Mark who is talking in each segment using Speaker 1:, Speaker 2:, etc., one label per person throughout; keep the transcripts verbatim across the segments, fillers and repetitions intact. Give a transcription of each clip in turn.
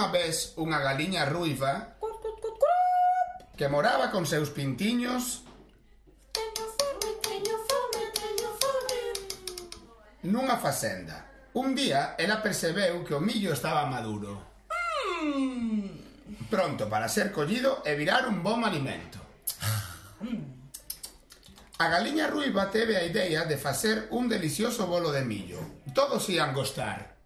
Speaker 1: unha vez unha galiña ruiva que moraba con seus pintiños
Speaker 2: Teño fome, teño fome, teño fome.
Speaker 1: nunha facenda. Un día ela percebeu que o millo estaba maduro,
Speaker 2: Mm.
Speaker 1: pronto para ser collido e virar un bom alimento. A galiña ruiva teve a idea de facer un delicioso bolo de millo. Todos ian gostar.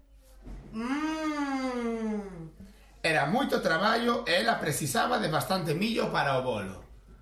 Speaker 2: Mm.
Speaker 1: Era moito traballo e ela precisaba de bastante millo para o bolo.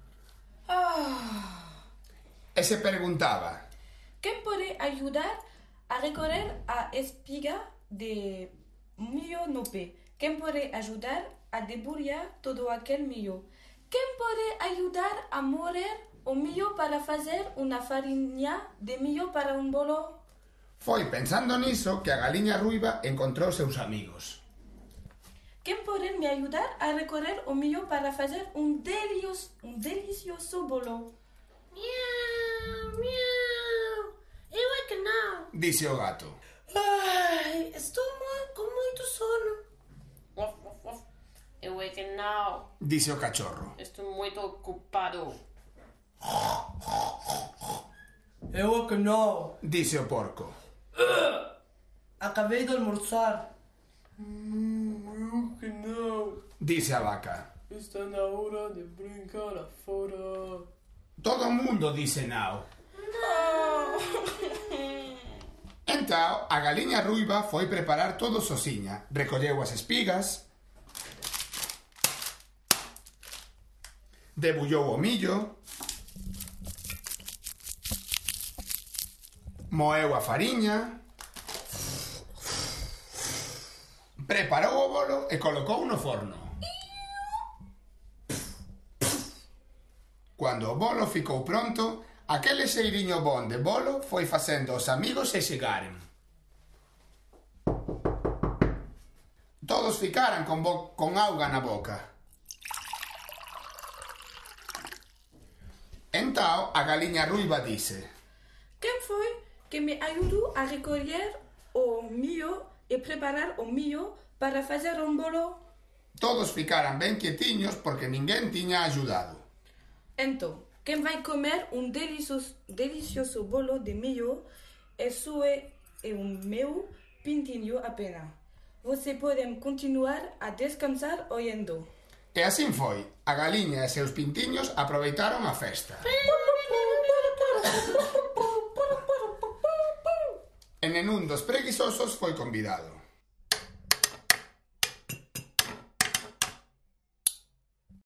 Speaker 2: Ah.
Speaker 1: E se preguntaba:
Speaker 2: Quen pode ayudar a recorrer a espiga de millo no pé? Quen pode ajudar a debulhar todo aquel millo? Quen pode ayudar a moler o millo para fazer unha farinha de millo para un bolo?
Speaker 1: Foi pensando niso que a galiña ruiva encontrou seus amigos.
Speaker 2: Quen pode me ayudar a recorrer o millo para fazer un, delios, un delicioso bolo?
Speaker 3: Miau, miau. Eu é que non.
Speaker 1: Dice o gato.
Speaker 3: Ai, estou moi, con moito sono.
Speaker 4: Uf, uf, uf. Eu é que non.
Speaker 1: Dice o cachorro.
Speaker 4: Estou moito ocupado.
Speaker 5: Eu é que non.
Speaker 1: Dice o porco.
Speaker 5: Acabei de almorzar.
Speaker 4: Eu que non.
Speaker 1: Dice a vaca.
Speaker 4: Está na hora de brincar afora.
Speaker 1: Todo o mundo dice nao. Entao, a galiña ruiva foi preparar todo sosiña. Recolleu as espigas, debullou o millo, moeu a fariña, preparou o bolo e colocou no forno. Cando o bolo ficou pronto, aquele xeiriño bon de bolo foi facendo os amigos e chegaren. Todos ficaran con, bo- con auga na boca. Entao, a galiña ruiva dice:
Speaker 2: Quen foi que me ayudou a recoller o millo e preparar o millo para fazer un bolo?
Speaker 1: Todos ficaran ben quietiños porque ninguén tiña axudado.
Speaker 2: Entón, quen vai comer un delicioso, delicioso bolo de millo e sue e o meu pintiño apenas. Você pode continuar a descansar oyendo.
Speaker 1: E así foi. A galiña e seus pintiños aproveitaron a festa. E nenún dos preguisosos foi convidado.